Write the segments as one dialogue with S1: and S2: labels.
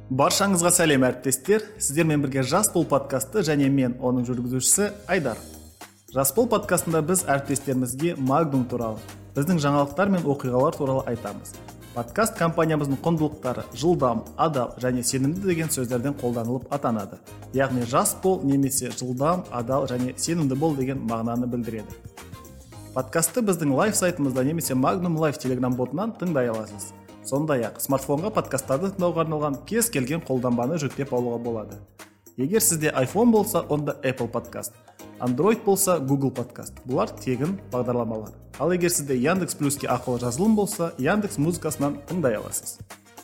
S1: Баршаңызға сәлем әріптестер. Сіздермен бірге Жас бол подкасты және мен оның жүргізушісі Айдар. Жас бол подкастында біз әріптестерімізге Magnum туралы, біздің жаңалықтар мен оқиғалар туралы айтамыз. Подкаст компаниямыздың құндылықтары жылдам, адал және сенімді деген сөздерден қолданылып атанады. Яғни жас бол немесе жылдам, адал және сенімді бол деген мағынаны білдіреді. Подкастты біздің лайв сайтымызда немесе Magnum Live Telegram ботынан тыңдай аласыз. Сондай-ақ смартфонға подкасттарды тыңдауға арналған кез келген қолданбаны жүктеп алуға болады. Егер сізде iPhone болса, онда Apple Podcast, Android болса Google Podcast. Бұлар тегін бағдарламалар. Ал егер сізде Яндекс.Плюске ақылы жазылым болса, Яндекс музыкасынан тыңдай аласыз.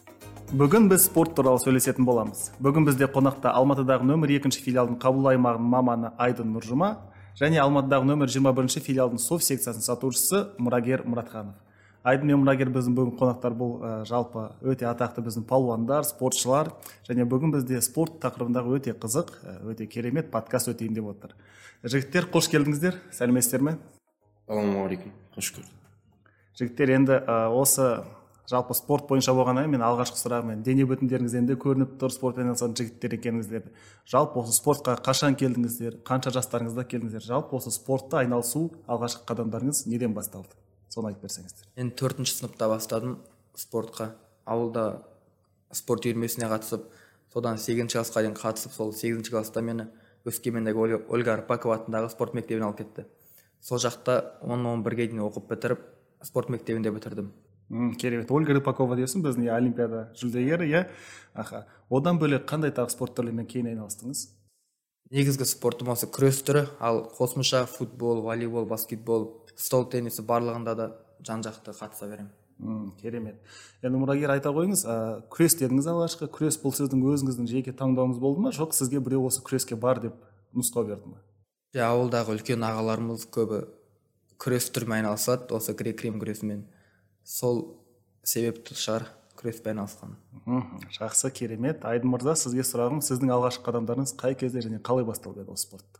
S1: Бүгін біз спорт туралы сөйлесетін боламыз. Бүгін бізде қонақта Алматыдағы нөмір 2 филиалдың қабыл аймағының маманы Айдын Нұржұма және Алматыдағы нөмір 21 филиалдың софт секциясының сатушысы Мұрагер Мұратханов. Айдын мен Мұрагер біздің бүгін қонақтар, бұл жалпы өте атақты біздің палуандар, спортшылар, және бүгін бізде спорт тақырыбындағы өте қызық, өте керемет подкаст өтейін деп отыр. Жігіттер, қош келдіңіздер, сәлеметсіздер ме?
S2: Ассалаумағалейкум, қош көрдік.
S1: Жігіттер, енді осы жалпы спорт бойынша болғаннан мен алғашқы сұрағым, дене бүтіндеріңізден де көрініп тұр спортпен айналысатын жігіттер екеніңіздер. Жалпы осы спортқа қашан келдіңіздер, қанша жастарыңызда келдіңіздер? Жалпы осы спортта айналысу алғашқы қадамдарыңыз неден басталды? Соны айтып берсеңіздер.
S2: Мен 4-ші сыныпта бастадым спортқа. Ауылда спорт үйірмесіне қатысып, содан 8-ші классқа дейін қатысып, сол 8-ші класста мені Өскемендегі Ольга Арпакова атындағы спорт мектебіне алып кетті. Сол жақта 10-11-ге дейін оқып бітіріп, спорт мектебінде бітірдім.
S1: Керемет. Ольга Арпакова дейсің, біздің олимпиада жүлдегері, Аха. Одан бөлек қандай тағы спорт түрлерімен кейін айналыстыңыз?
S2: Негізгі спортым осы күрес түрі, ал қосымша футбол, волейбол, баскетбол, стол теннисі барлығында да жан-жақты қатыса беремін.
S1: Керемет. Енді Мұрагер, айта қойыңыз, күрес дедіңіз алғашқы. Күрес бұл сіздің өзіңіздің жеке таңдауыңыз болды ма, жоқ сізге біреу осы күреске бар деп нұсқау берді ме?
S2: Ауылдағы үлкен ағаларымыз көбі күрес түрімен айналысады, осы грек-рим күресімен. Сол себепті шығар күреспен айналысқан.
S1: Жақсы, керемет. Айдын мырза, сізге сұрағым, сіздің алғашқы қадамдарыңыз қай кезде және қалай басталды еді осы спортта?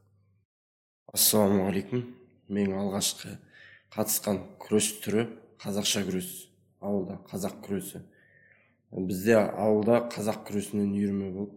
S2: Ассалаумағалейкум. Мен алғашқы қатысқан күрес түрі қазақша күрес. Ауылда қазақ күресі. Бізде ауылда қазақ күресінен үйірме болып,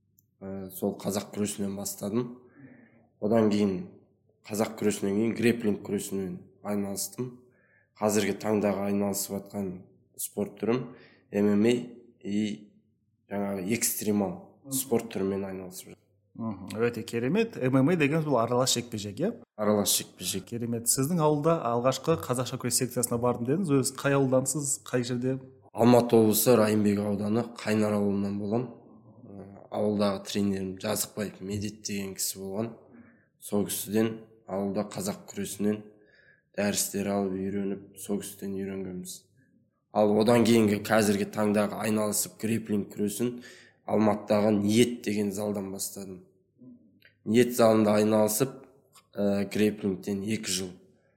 S2: сол қазақ күресінен бастадым. Одан кейін қазақ күресінен кейін грэпплинг күресінен айналыстым. Қазіргі таңдағы айналысып жатқан спорт түрім ММА и жаңағы экстремал спорт түрімен айналысып жатыр.
S1: Өте керемет. ММА деген бұл аралас жекпе-жек, иә?
S2: Аралас жекпе-жек.
S1: Керемет. Сіздің ауылда алғашқы қазақша күрес секциясына бардым дедіңіз. Өз қай ауылдансыз, қай жерде?
S2: Алматы облысы Райымбек ауданы Қайнар ауылынан болам. Ауылдағы тренерім Жазықбаев Медет деген кісі болған. Сол кісіден ауылда қазақ күресінен дәрістер алып үйреніп, сол кісіден үйренгенбіз. Ал одан кейінгі қазіргі таңдағы айналысып грэпплинг күресін Алматыдағы Ниет деген залдан бастадым. Ниет залында айналысып грэпплингтен 2 жыл,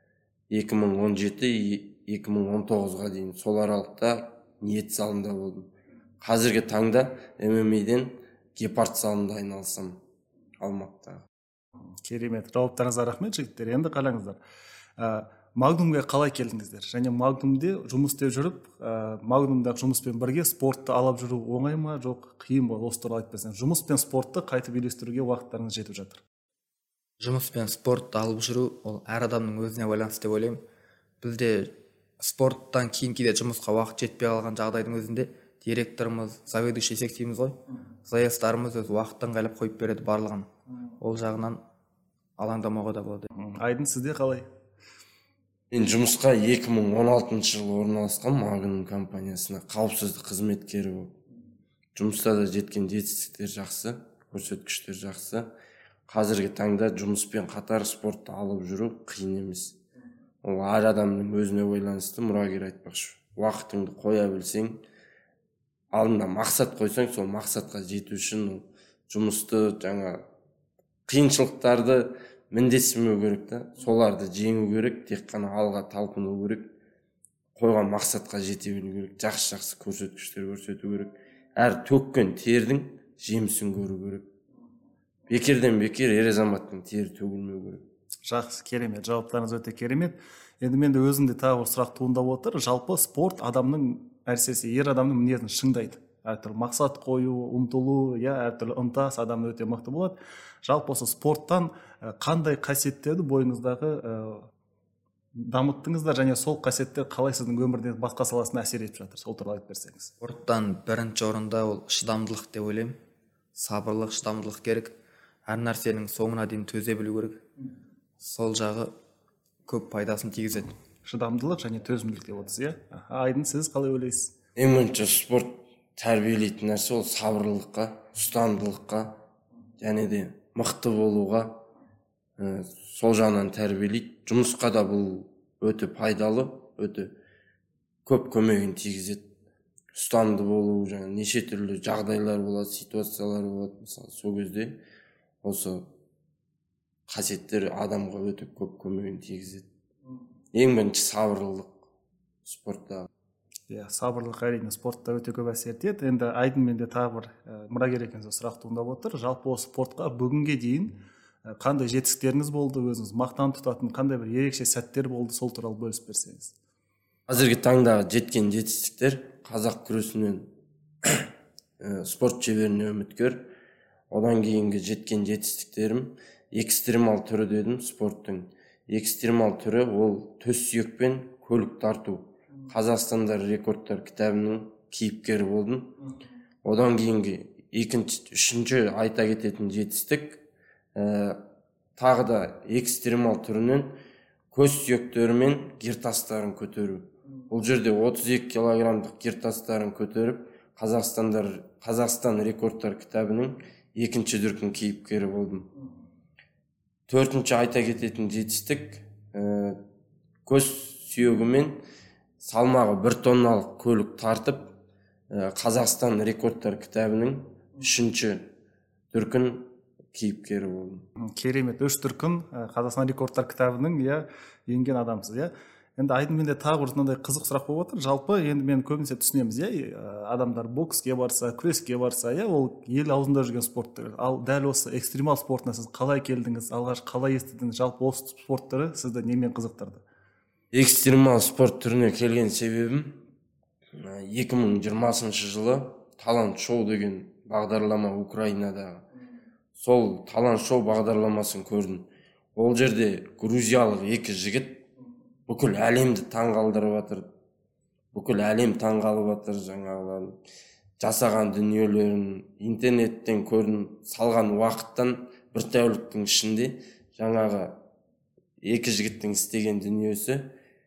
S2: 2017-2019-ға дейін сол аралықта Ниет залында болдым. Қазіргі таңда ММА-ден Гепард залында айналысам Алматыдағы.
S1: Керемет. Жауаптарыңызға рахмет, жігіттер. Енді қараңыздар. Magnumға қалай келдіңіздер? Және Magnumде жұмыс істеп жүріп, Magnumдағы жұмыспен бірге спортты алып жүру оңай ма, жоқ қиын ба? Осы туралы айтып берсеңіз. Жұмыс пен спортты қайтып үйлестіруге уақыттарыңыз жетіп жатыр?
S2: Жұмыс пен спортты алып жүру ол әр адамның өзіне байланысты деп ойлаймын. Бізде спорттан кейін кейде жұмысқа уақыт жетпей қалған жағдайдың өзінде директорымыз, заведующий дейміз ғой, заездарымыз өз уақыттан ыңғайлап қойып береді барлығын. Ол жағынан алаңдамауға да болады.
S1: Айдын, сізде қалай?
S2: Мен жұмысқа 2016 жылы орналасқан Magnum компаниясына қауіпсіздік қызметкері болып. Жұмыста да жеткен жетістіктер жақсы, көрсеткіштер жақсы. Қазіргі таңда жұмыспен қатар спортты алып жүру қиын емес. Ол әр адамның өзіне байланысты. Мұрагер айтпақшы. Уақытыңды қоя білсең, алдында мақсат қойсаң, сол мақсатқа жету үшін жұмысты қиыншылықтарды міндетсімеу керек та, соларды жеңу керек, тек қана алға талпыну керек, қойған мақсатқа жете білу керек, жақсы көрсеткіштер көрсету керек. Әр төккен тердің жемісін көру керек. Бекерден бекер ер азаматтың тері төгілмеу керек.
S1: Жақсы, керемет. Жауаптарыңыз өте керемет. Енді менде өзімде тағы бір сұрақ туындап отыр. Жалпы спорт адамның нәрсесі, ер адамның мінезін шыңдайды. әртүрлі мақсат қою, ұмтылу, әртүрлі ынтасы адамда өте мықты болады. Жалпы осы спорттан қандай қасиеттерді бойыңыздағы дамыттыңыздар және сол қасиеттер қалай сіздің өмірдің басқа саласына әсер етіп жатыр, сол туралы айтып берсеңіз.
S3: Спорттан бірінші орында ол шыдамдылық деп ойлаймын. Сабырлық, шыдамдылық керек. Әр нәрсенің соңына дейін төзе білу керек. Сол жағы көп пайдасын тигізеді.
S1: Шыдамдылық және төзімділік деп отырсыз, Айдын, сіз қалай ойлайсыз?
S2: Ең бірінші спорт тәрбиелейтін нәрсе ол сабырлылыққа, ұстамдылыққа және де мықты болуға сол жағынан тәрбиелейді. Жұмысқа да бұл өте пайдалы, өте көп көмегін тигізеді. Ұстамды болу, жаңа неше түрлі жағдайлар болады, ситуациялар болады. Мысалы, сол кезде осы қасиеттер адамға өте көп көмегін тигізеді. Ең бірінші сабырлылық спортта.
S1: Сабырлық әрине спортта өте көп әсер етеді. Енді Айдын менде тағы бір мұрагер екенсіз сұрақ туындап отыр. Жалпы осы спортқа бүгінге дейін қандай жетістіктеріңіз болды, өзіңіз мақтан тұтатын қандай бір ерекше сәттер болды, сол туралы бөлісіп берсеңіз.
S2: Қазіргі таңдағы жеткен жетістіктер қазақ күресінен спорт шеберіне үміткер. Одан кейінгі жеткен жетістіктерім экстремал түрі дедім спорттың. Экстремал түрі ол төс сүйекпен көлік тарту. Қазақстанда рекордтар кітабының кейіпкері болдым. Одан кейінгі үшінші айта кететін жетістік тағы да экстремал түрінен көз сүйектері мен гиртастарын көтеру. Бұл жерде 32 килограммдық гиртастарын көтеріп, Қазақстан рекордтар кітабының екінші дүркін кейіпкері болдым. Төртінші айта кететін жетістік көз сүйегімен салмағы 1 тонналық көлік тартып, Қазақстан рекордтар кітабының үшінші дүркін кейіпкері болдым.
S1: Керемет, 3 дүркін Қазақстан рекордтар кітабының енген адамсыз, Енді Айдын менде тағы бір мынандай қызық сұрақ болып отыр. Жалпы енді мен көбінесе түсінеміз, адамдар бокске барса, күреске барса, ол ел аузында жүрген спорт түгіл. Ал дәл осы экстремал спортына сіз қалай келдіңіз, алғаш қалай естідіңіз, жалпы осы спорт түрі сізді немен қызықтырды?
S2: Экстремал спорт түріне келген себебім 2020 жылы талант шоу деген бағдарлама Украинадағы. Сол талант шоу бағдарламасын көрдім. Ол жерде грузиялық 2 жігіт бүкіл әлемді таңғалдырып жатыр. Бүкіл әлем таңғалып жатыр, жаңағылардың жасаған дүниелерін интернеттен көрдім. Салған уақыттан бір тәуліктің ішінде жаңағы 2 жігіттің істеген дүниесі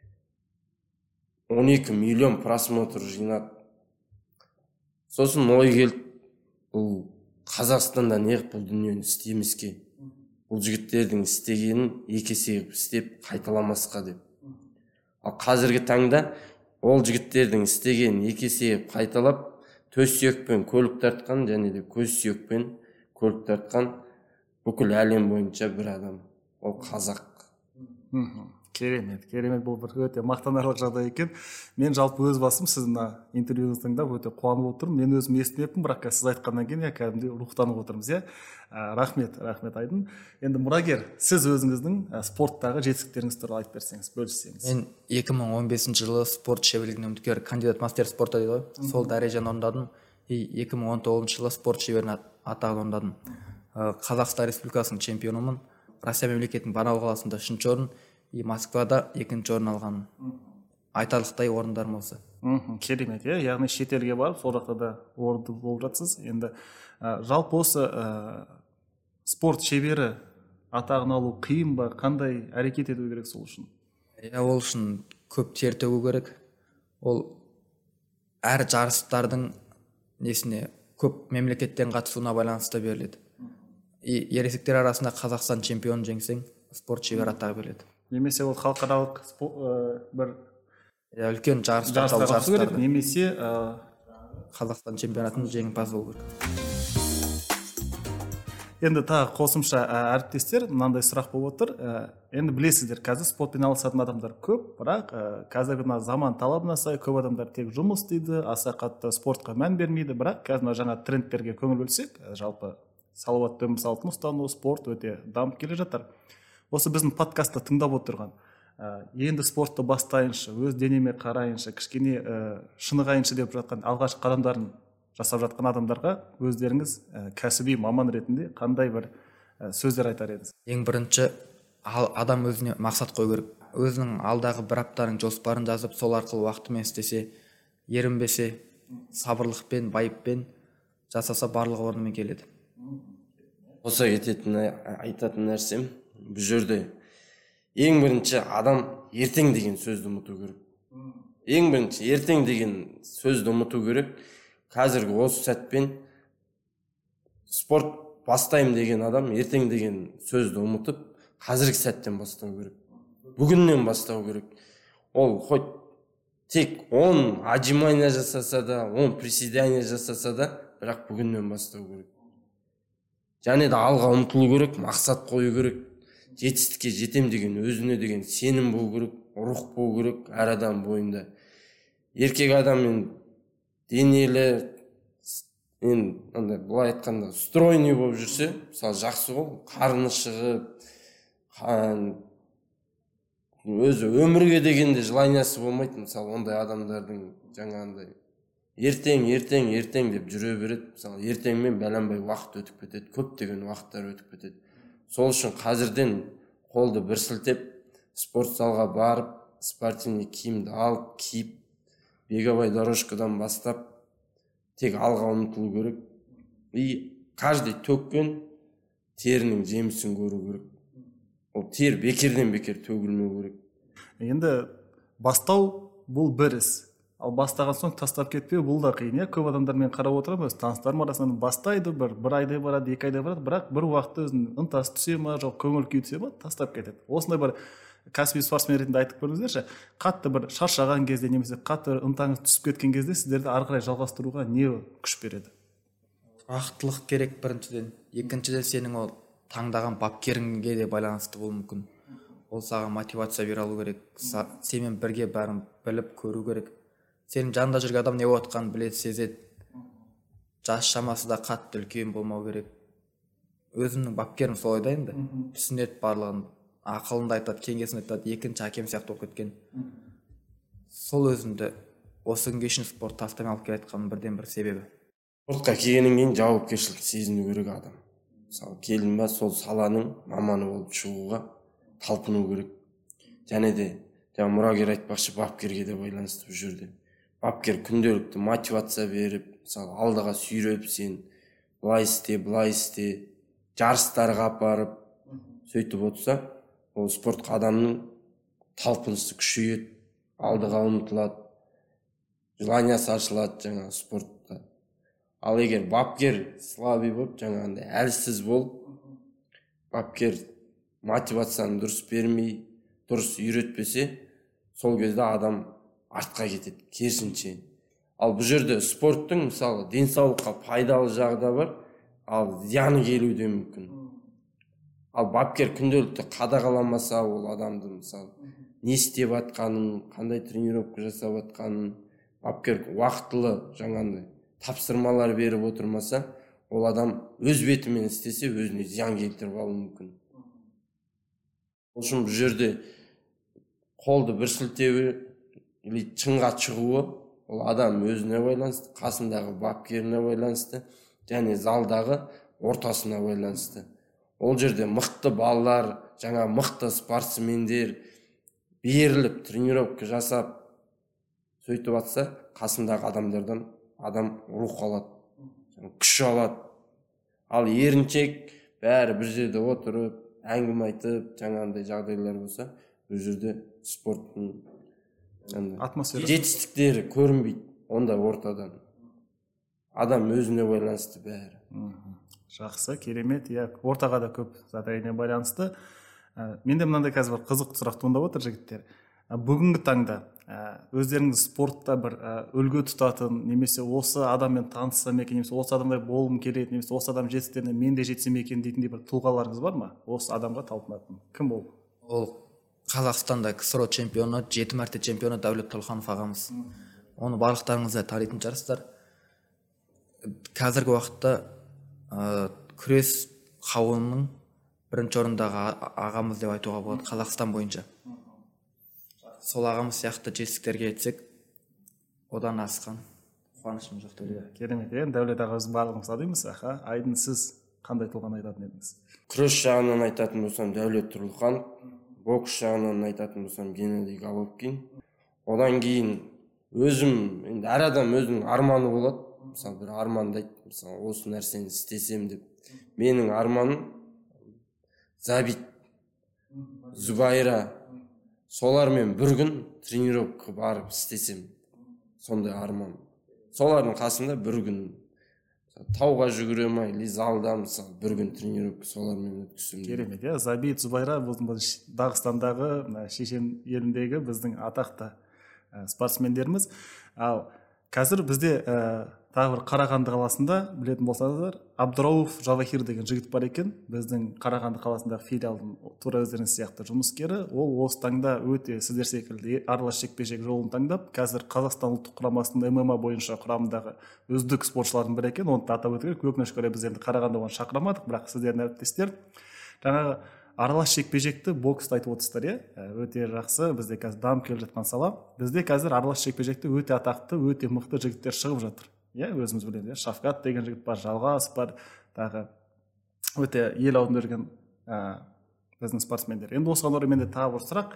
S2: 12 миллион просмотр жинады. Сосын ой келді, бұл Қазақстанда неғып бұл дүниені істемеске, бұл жігіттердің істегенін 2 есе істеп қайталамасқа деп. Ал қазіргі таңда ол жігіттердің істегенін 2 есе қайталап, төс сүйекпен көлік тартқан және де көз сүйекпен көлік тартқан бүкіл әлем бойынша бір адам. Ол қазақ.
S1: Керемет, бұл бір өте мақтанарлық жағдай екен. Мен жалпы өз басым сіздің интервьюіңізді тыңдап өте қуанып отырмын. Мен өзім естімеппін, бірақ сіз айтқаннан кейін кәдімгідей рухтанып отырмыз, Рахмет Айдын. Енді мұрагер, сіз өзіңіздің спорттағы жетістіктеріңіз туралы айтып берсеңіз, бөліссеңіз.
S3: Мен 2015 жылы спорт шеберлігіне үміткер, кандидат мастер спорта дейді ғой. Сол дәрежені орындадым. 2019 жылы спорт шеберінің атағын орындадым. Қазақстан Республикасының чемпионымын. Россия мемлекетінің Барнаул қаласында 3-ші орын, Москвада 2-ші орын алған. Айтарлықтай орындарым осы.
S1: Керемет, яғни шетелге барып, сол жақта да орынды болып жатсыз. Енді жалпы осы спорт шебері атағын алу қиын ба, қандай әрекет ету керек сол үшін?
S3: Ол үшін көп тер төгу керек. Ол әр жарыстардың көп мемлекеттен қатысуына байланысты беріледі. Ересектер арасында Қазақстан чемпионын жеңсең, спорт шебері атағы беріледі.
S1: Немесе ол халықаралық бір
S3: үлкен
S1: жарыстарға қатысу керек, немесе
S3: Қазақстан чемпионатының жеңімпазы болу керек.
S1: Енді тағы қосымша әріптестер, мынандай сұрақ болып отыр. Енді білесіздер, қазір спортпен айналысатын адамдар көп, бірақ қазіргі заман талабына сай көп адамдар тек жұмыс істейді, аса қатты спортқа мән бермейді, бірақ қазір жаңа трендтерге көңіл бөлсек, жалпы салауатты өмір салтын ұстану, спорт өте дамып келе жатыр. Осы біздің подкастты тыңдап отырған, енді спортты бастайыншы, өз денеме қарайыншы, кішкене шынығайыншы деп жатқан алғашқы қадамдарын жасап жатқан адамдарға өздеріңіз кәсіби маман ретінде қандай бір сөздер айтар едіңіз?
S3: Ең бірінші, адам өзіне мақсат қою керек. Өзінің алдағы бір аптаның жоспарын жазып, сол арқылы уақытымен істесе, ерінбесе, сабырлықпен, байыппен жасаса барлығы орнымен келеді.
S2: Қоса кететін айтатын нәрсем, бұл жерде ең бірінші адам ертең деген сөзді ұмыту керек. Ең бірінші ертең деген сөзді ұмыту керек. Қазіргі осы сәтпен спорт бастаймын деген адам ертең деген сөзді ұмытып, қазіргі сәттен бастау керек. Бүгіннен бастау керек. Ол хоть тек 10 отжимания жасаса да, 10 приседания жасаса да, бірақ бүгіннен бастау керек. Және де алға ұмтылу керек, мақсат қою керек. Жетістікке жетем деген өзіне деген сенім болу керек, рух болу керек әр адам бойында. Еркек адаммен денелі, былай айтқанда стройный болып жүрсе, мысалы жақсы ғой, қарны шығып, өзі өмірге дегенде желаниясы болмайды. Мысалы ондай адамдардың жаңағындай ертең деп жүре береді. Мысалы ертеңмен бәленбай уақыт өтіп кетеді, көптеген уақыттар өтіп кетеді. Сол үшін қазірден қолды бір сілтеп, спорт залға барып, спортивный киімді алып, киіп, беговой дорожкадан бастап, тек алға ұмтылу керек. И каждый төккен терінің жемісін көру керек. Ол тер бекерден бекер төгілмеу керек.
S1: Енді бастау бұл бір іс. Ал бастаған соң тастап кетпеу бұл да қиын. Көп адамдармен қарап отырамын, өз таныстарым арасынан бастайды, бір айдай барады, 2 айдай барады, бірақ бір уақытта өзінің ынтасы түсе ма, жоқ көңіл күй түсе ма, тастап кетеді. Осындай бір кәсіби спортсмен ретінде айтып көріңіздерші, қатты бір шаршаған кезде немесе қатты ынтаңыз түсіп кеткен кезде сіздерді ары қарай жалғастыруға не күш береді?
S3: Уақыттылық керек біріншіден. Екіншіден сенің ол таңдаған бапкеріңге де байланысты болуы мүмкін. Ол саған мотивация бере алу керек. Сенімен бірге бәрін біліп көру керек. Сенің жанында жүрген адам не болып жатқанын біледі, сезеді. Жас шамасы да қатты үлкен болмау керек. Өзімнің бапкерім солай да енді. Түсінеді барлығын, ақылында айтады, кеңесін айтады, екінші әкем сияқты болып кеткен. Сол өзімді осы күнге шейін спорт тастамай алып келатқанның бірден бір себебі.
S2: Спортқа келгеннен кейін жауапкершілік сезіну керек адам. Мысалы келдің ба, сол саланың маманы болып шығуға талпыну керек. Және де мұрагер айтпақшы, бапкерге де байланысты бұл жерде. Бапкер күнделікті мотивация беріп, мысалы алдыға сүйреп, сен былай істе, жарыстарға апарып, сөйтіп отырса, ол спортқа адамның талпынысы күшейеді, алдыға ұмтылады, желаниясы ашылады жаңағы спортта. Ал егер бапкер слабый болып, жаңағындай әлсіз болып, бапкер мотивацияны дұрыс бермей, дұрыс үйретпесе, сол кезде адам артқа кетеді, керісінше. Ал бұл жерде спорттың мысалы денсаулыққа пайдалы жағы да бар, ал зияны келуі де мүмкін. Ал бапкер күнделікті қадағаламаса, ол адамды мысалы не істеп жатқанын, қандай тренировка жасап жатқанын, бапкер уақытылы жаңағындай тапсырмалар беріп отырмаса, ол адам өз бетімен істесе, өзіне зиян келтіріп алуы мүмкін. Ол үшін бұл жерде қолды бір сілтеуі или шыңға шығуы, ол адам өзіне байланысты, қасындағы бапкеріне байланысты, және залдағы ортасына байланысты. Ол жерде мықты балалар, жаңа мықты спортсмендер беріліп, тренировка жасап, сөйтіп атса, қасындағы адамдардан адам рух алады, күш алады. Ал еріншек бәрі бір жерде отырып, әңгіме айтып, жаңағындай жағдайлар болса, бұл жерде спорттың
S1: атмосфера
S2: жетістіктері көрінбейді ондай ортадан. Адам өзіне байланысты бәрі.
S1: Жақсы, керемет. Ортаға да көп әрине байланысты. Менде мынандай қазір бір қызық сұрақ туындап отыр, жігіттер. Бүгінгі таңда өздеріңіз спортта бір үлгі тұтатын, немесе осы адаммен таныссам екен, немесе осы адамдай болғым келеді, немесе осы адам жетістіктеріне мен де жетсем екен дейтіндей бір тұлғаларыңыз бар ма? Осы адамға талпынатын. Кім ол?
S3: Ол Қазақстанда КСРО чемпионы, 7 мәрте чемпионы Дәулет Толқанов ағамыз. Оны барлықтарыңыз да танитын шығарсыздар. Қазіргі уақытта күрес қауымының бірінші орындағы ағамыз деп айтуға болады Қазақстан бойынша. Сол ағамыз сияқты жетістіктерге жетсек, одан асқан. қуанышым жоқ деп.
S1: Керемет. Енді Дәулет аға, біз барлығымыз адаймыз. Айдын, сіз қандай тұлғаны айтатын едіңіз?
S2: Күрес жағынан айтатын болсам Дәулет Тұрлыхан, бокс жағынан айтатын болсам Геннадий Головкин. Одан кейін өзім, енді әр адам өзінің арманы болады. Мысалы бір армандайды, мысалы осы нәрсені істесем деп. Менің арманым Забит, Зубайра, солармен бір күн тренировка барып істесем, сондай арман. Солардың қасында бір күн тауға жүгірем или залда мысалы бір күн тренировка солармен өткізсем.
S1: Керемет. Забит, Зубайра Дағыстандағы, Шешен еліндегі біздің атақты спортсмендеріміз. Ал қазір бізде тағы бір Қарағанды қаласында, білетін болсаңыздар, Абдырауф Жавахир деген жігіт бар екен. Біздің Қарағанды қаласындағы филиалдың тура өздеріңіз сияқты жұмыскері. Ол осы таңда өте сіздер секілді аралас жекпе-жек жолын таңдап, қазір Қазақстан ұлттық құрамасының ММА бойынша құрамындағы үздік спортшылардың бірі екен. Оны атап өту керек. Өкінішке орай біз енді Қарағанды оған шақырамадық, бірақ сіздердің әріптестер жаңағы аралас жекпе-жекті боксты айтып отырсыздар, өте жақсы. Бізде қазір дамып келе жатқан сала. Бізде қазір аралас жекпе-жекте өте атақты, өте мықты жігіттер шығып жатыр. Өзіміз білеміз, Шафкат деген жігіт бар, Жалғас бар, тағы өте ел аузында жүрген біздің спортсмендер. Енді осыған орай менде тағы бір сұрақ.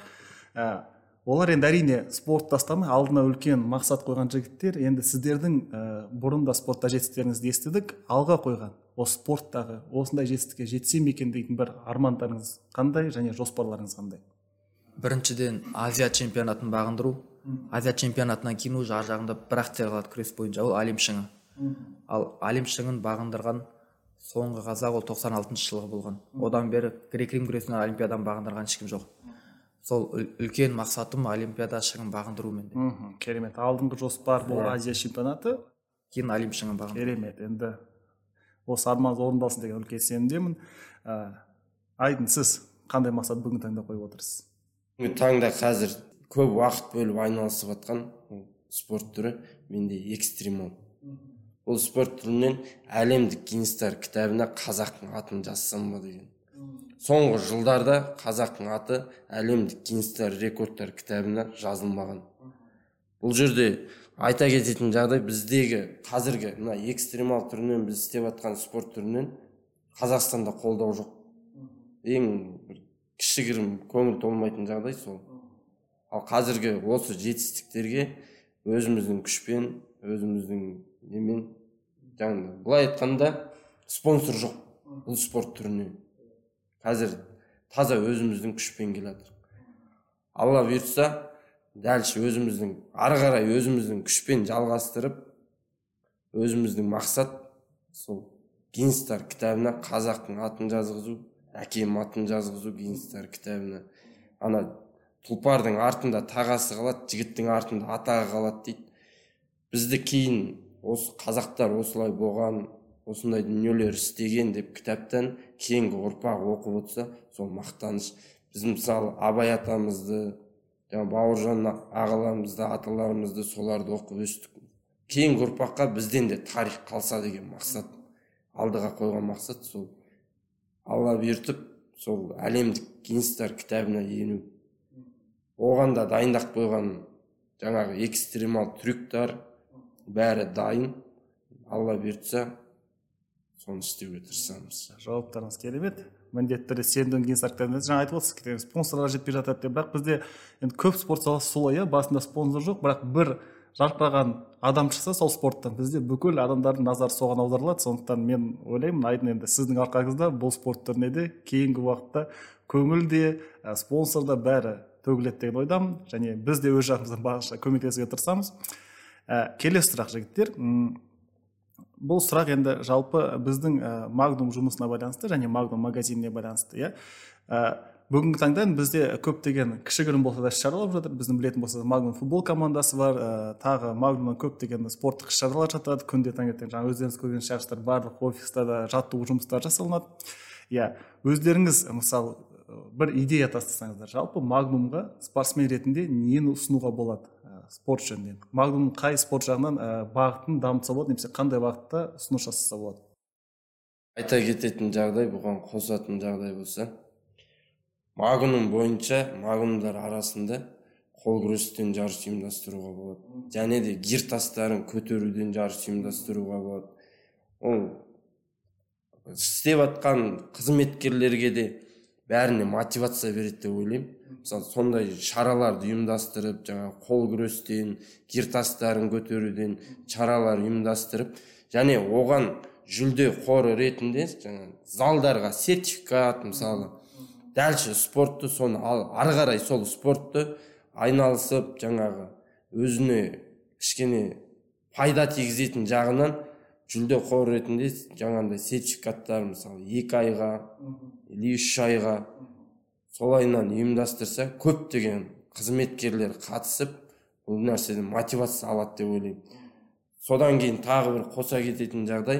S1: Олар енді әрине спорт тастамай алдына үлкен мақсат қойған жігіттер. Енді сіздердің бұрында спортта жетістіктеріңізді естідік, алға қойған осы спорттағы осындай жетістікке жетсем екен дейтін бір армандарыңыз қандай және жоспарларыңыз қандай?
S3: Біріншіден Азия чемпионатын бағындыру. Азия чемпионатынан кейін уже ар жағында бір акция қалады күрес бойынша, ол Әлем шыңы. Ал Әлем шыңын бағындырған соңғы қазақ ол 96 жылғы болған. Одан бері грек-рим күресінен олимпиадан бағындырған ешкім жоқ. Сол үлкен мақсатым олимпиада шыңын бағындыру менде.
S1: Керемет. Алдыңғы жоспар бұл Азия чемпионаты,
S3: кейін Әлем шыңын бағындыру.
S1: Керемет. Енді осы арманыңыз орындалсын деген үлкен сенімдемін. Айдын, сіз қандай мақсат бүгінгі таңда қойып отырсыз?
S2: Бүгінгі таңда қазір көп уақыт бөліп айналысып жатқан спорт түрі менде экстремал. Бұл спорт түрінен әлемдік Гиннестер кітабына қазақтың атын жазсам ба деген. Соңғы жылдарда қазақтың аты әлемдік Гиннестер рекордтар кітабына жазылмаған. Бұл жерде айта кететін жағдай, біздегі қазіргі мына экстремал түрінен біз істеп жатқан спорт түрінен Қазақстанда қолдау жоқ. Ең кішігірім көңіл толмайтын жағдай сол. Ал қазіргі осы жетістіктерге өзіміздің күшпен, өзіміздің немен, жаңағы былай айтқанда спонсор жоқ бұл спорт түріне. Қазір таза өзіміздің күшпен келатыр. Алла бұйыртса, дәлше өзіміздің ары қарай өзіміздің күшпен жалғастырып, өзіміздің мақсат сол Гиннестер кітабына қазақтың атын жазғызу, әкем атын жазғызу Гиннестер кітабына. Ана тұлпардың артында тағасы қалады, жігіттің артында атағы қалады дейді. Бізді кейін осы қазақтар осылай болған, осындай дүниелер істеген деп кітаптан кейінгі ұрпақ оқып отырса, сол мақтаныш. Біз мысалы Абай атамызды, Бауыржан ағаларымызды, аталарымызды соларды оқып өстік. Кейінгі ұрпаққа бізден де тарих қалса деген мақсат, алдыға қойған мақсат сол. Алла бұйыртып, сол әлемдік Гиннестер кітабына ену. Оған да дайындап қойған жаңағы экстремал трюктар бәрі дайын. Алла бұйыртса, соны істеуге тырысамыз.
S1: Жауаптарыңыз керемет. Міндетті түрде сендің Гиннестер кітабында жаңа айтып отырсыз, спонсорлар жетпей жатады деп, бірақ бізде енді көп спорт саласы солай, басында спонсор жоқ, бірақ бір жарқыраған адам шықса сол спорттан бізде бүкіл адамдардың назары соған аударылады. Сондықтан мен ойлаймын, Айдын, енді сіздің арқаңызда бұл спорт түріне де кейінгі уақытта көңіл де, спонсор да бәрі төгіледі деген ойдамын, және біз де өз жағымыздан барынша көмектесуге тырысамыз. Келесі сұрақ, жігіттер. Бұл сұрақ енді жалпы біздің Magnum жұмысына байланысты және Magnum магазиніне байланысты. Бүгінгі таңда бізде көптеген кішігірім болса да шаралар жатыр. Біздің білетін болса да Magnum футбол командасы бар, тағы Magnumнан көптеген спорттық шаралар жатады. Күнде таңертең жаңа өздеріңіз көрген шығарсыздар, барлық офиста да жаттығу жұмыстары жасалынады. Өздеріңіз мысалы бір идея тастасаңыздар, жалпы Magnumға спортсмен ретінде нені ұсынуға болады спорт жөнінен? Magnum қай спорт жағынан бағытын дамытса болады, немесе қандай бағытта ұсыныс жасаса болады?
S2: Айта кететін жағдай, бұған қосатын жағдай болса, Magnum бойынша Magnumдар арасында қол күрестен жарыс ұйымдастыруға болады, және де гир тастарын көтеруден жарыс ұйымдастыруға болады. Ол істеп жатқан қызметкерлерге де бәріне мотивация береді деп ойлаймын. Мысалы сондай шараларды ұйымдастырып, жаңа қол күрестен, гир тастарын көтеруден шаралар ұйымдастырып, және оған жүлде қоры ретінде жаңа залдарға сертификат, мысалы дәлші спортты соны ары қарай сол спортты айналысып, жаңағы өзіне кішкене пайда тигізетін жағынан жүлде қоры ретінде жаңағындай сертификаттар, мысалы 2 айға или 3 айға солайынан ұйымдастырса, көптеген қызметкерлер қатысып, бұл нәрседен мотивация алады деп ойлаймын. Содан кейін тағы бір қоса кететін жағдай,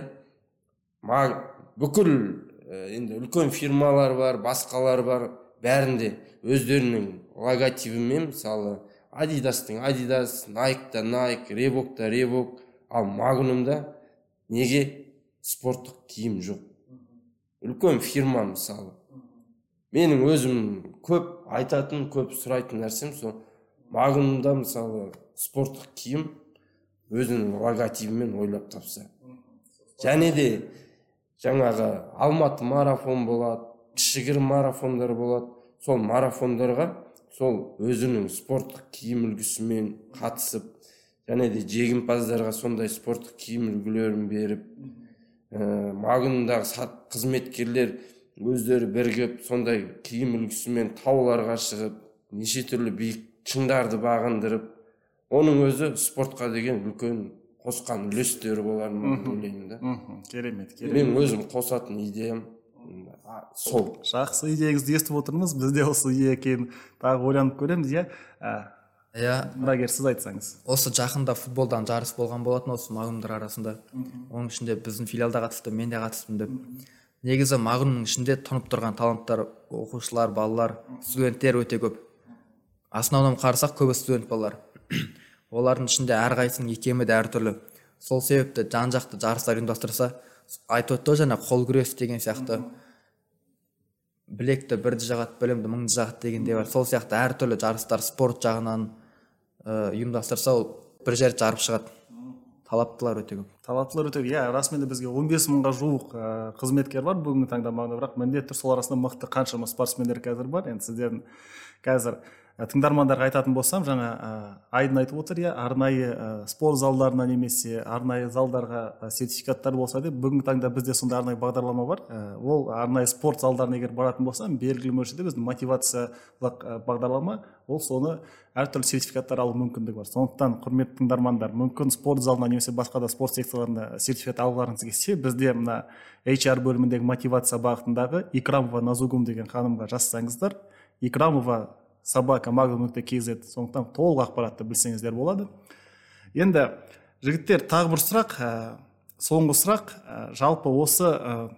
S2: бүкіл енді үлкен фирмалар бар, басқалар бар, бәрінде өздерінің логотипімен, мысалы Адидастың Адидас, Найкта Найк, Ребокта Ребок, ал Магнумда неге спорттық киім жоқ? Үлкен фирма, мысалы. Менің өзім көп айтатын, көп сұрайтын нәрсем сол, Магнумда мысалы спорттық киім өзінің логотипімен ойлап тапса. Және де жаңағы Алматы марафон болады, кішігірім марафондар болады. Сол марафондарға сол өзінің спорттық киім үлгісімен қатысып, және де жеңімпаздарға сондай спорттық киім үлгілерін беріп, Магнумдағы қызметкерлер өздері бірігіп сондай киім үлгісімен тауларға шығып, неше түрлі биік шыңдарды бағындырып, оның өзі спортқа деген үлкен қосқан үлестері боларын ойлаймын да.
S1: Керемет.
S2: Мен өзім қосатын идеям сол.
S1: Жақсы идеяңызды естіп отырмыз. Біз де осы идея екенін тағы ойланып көреміз, иә. Мұрагер, сіз айтсаңыз.
S3: Осы жақында футболдан жарыс болған болатын, осы Магнумдар арасында. Оның ішінде біздің филиалда қатысты, мен де қатыстым деп. Негізі Магнумның ішінде тұнып тұрған таланттар, оқушылар, балалар, студенттер өте көп. Основном қарасақ, көбі студент балалар. Олардың ішінде әрқайсының икемі де әртүрлі. Сол себепті жан-жақты жарыстар ұйымдастырса, айтып өтті жаңа қол күрес деген сияқты, білекті бірді жағат, білімді мыңды жағат дегенде бар. Сол сияқты әртүрлі жарыстар спорт жағынан ұйымдастырса, ол бір жер жарып шығады. Талаптылар өте көп.
S1: Талаптылар өте көп. Иә, расымен де бізге 15 мыңға жуық қызметкер бар бүгінгі таңда Магнумда, бірақ міндетті сол арасында мықты қаншама спортсмендер қазір бар. Енді сіздердің қазір тыңдармандарға айтатын болсам, жаңа Айдын айтып отыр, иә, арнайы спорт залдарына немесе арнайы залдарға сертификаттар болса деп, бүгінгі таңда бізде сондай арнайы бағдарлама бар. Ол арнайы спорт залдарына егер баратын болсам, белгілі мөлшерде біздің мотивациялық бағдарлама, ол соны әртүрлі сертификаттар алу мүмкіндігі бар. Сондықтан, құрметті тыңдармандар, мүмкін спорт залына немесе басқа да спорт секцияларында сертификат алғыларыңыз келсе, бізде мына HR бөліміндегі мотивация бағытындағы Икрамова Назугум деген ханымға жазсаңыздар, Икрамова @magnum.kz, сондықтан толық ақпаратты білсеңіздер болады. Енді жігіттер, тағы бір сұрақ, соңғы сұрақ, жалпы осы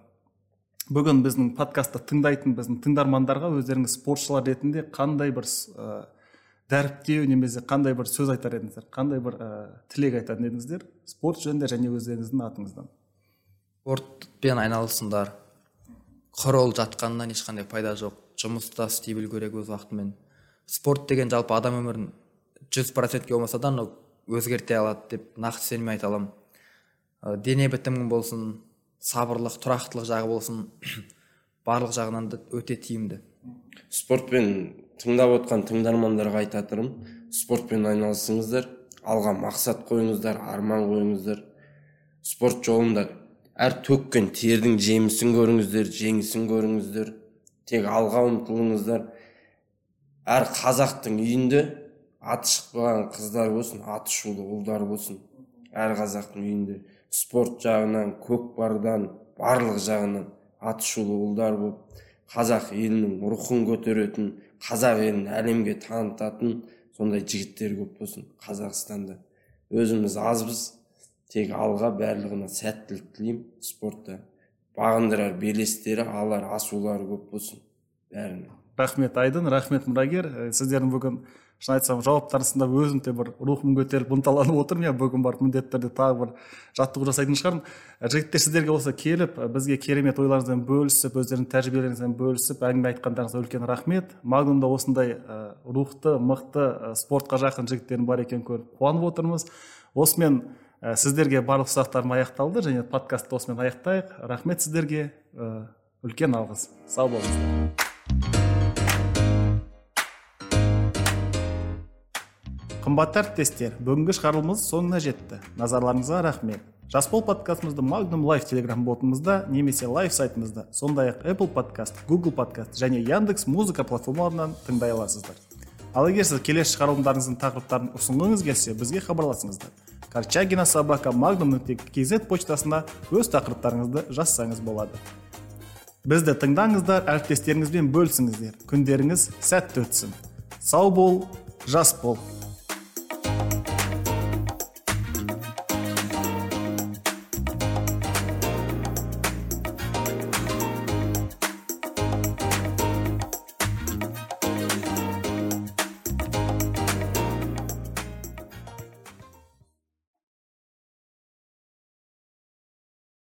S1: бүгін біздің подкастты тыңдайтын біздің тыңдармандарға өздеріңіз спортшылар ретінде қандай бір дәріптеу немесе қандай бір сөз айтар едіңіздер, қандай бір тілек айтатын едіңіздер спорт жөнінде және өздеріңіздің атыңыздан?
S3: Спортпен айналысыңдар. Құр ол жатқаннан ешқандай пайда жоқ. Жұмыста істей білу керек өз уақытымен. Спорт деген жалпы адам өмірін 100%-ке болмаса да өзгерте алады деп нақты сеніммен айта аламын. Дене бітімің болсын, сабырлық, тұрақтылық жағы болсын, барлық жағынан да өте тиімді.
S2: Спортпен тыңдап отқан тыңдармандарға айтатырым, спортпен айналысыңыздар, алға мақсат қойыңыздар, арман қойыңыздар. Спорт жолында әр төккен тердің жемісін көріңіздер, жеңісін көріңіздер. Тек алға ұмтылыңыздар. Әр қазақтың үйінде аты шықпаған қыздар болсын, аты шулы ұлдар болсын. Әр қазақтың үйінде спорт жағынан, көкпардан, барлық жағынан аты шулы ұлдар болып, қазақ елінің рухын көтеретін, қазақ елін әлемге танытатын сондай жігіттер көп болсын Қазақстанда. Өзіміз азбыз, тек алға барлығына сәттілік тілеймін. Спортта бағындырар белестері, алар асулары көп болсын бәріне.
S1: Рахмет Айдын, рахмет Мұрагер. Сіздердің бүгін шын айтсам жауаптарын тыңдап өзім де бір рухым көтеріліп ынталанып отырмын. Иә, бүгін барып міндетті түрде тағы бір жаттығу жасайтын шығармын. Жігіттер, сіздерге болса келіп бізге керемет ойларыңызбен бөлісіп, өздерінің тәжірибелеріңізбен бөлісіп әңгіме айтқандарыңызға үлкен рахмет. Магнумда осындай рухты, мықты, спортқа жақын жігіттердің бар екенін көріп қуанып отырмыз. Осымен сіздерге барлық сұрақтарым аяқталды және подкастты осымен аяқтайық. Рахмет сіздерге, үлкен алғыс. Сау болыңыздар. Қымбатты әріптестер, бүгінгі шығарылымыз соңына жетті. Назарларыңызға рахмет. Жасбол подкастымызды Magnum Live Telegram ботымызда немесе Live сайтымызда, сондай-ақ Apple Podcast, Google Podcast және Яндекс музыка платформаларынан тыңдай аласыздар. Ал егер сіз келесі шығарылымдарыңыздың тақырыптарын ұсынғыңыз келсе, бізге хабарласыңыздар. korchagina@magnum.kz почтасына өз тақырыптарыңызды жазсаңыз болады. Бізді тыңдаңыздар, әріптестеріңізбен бөлісіңіздер. Күндеріңіз сәтті өтсін. Сау бол, жас бол.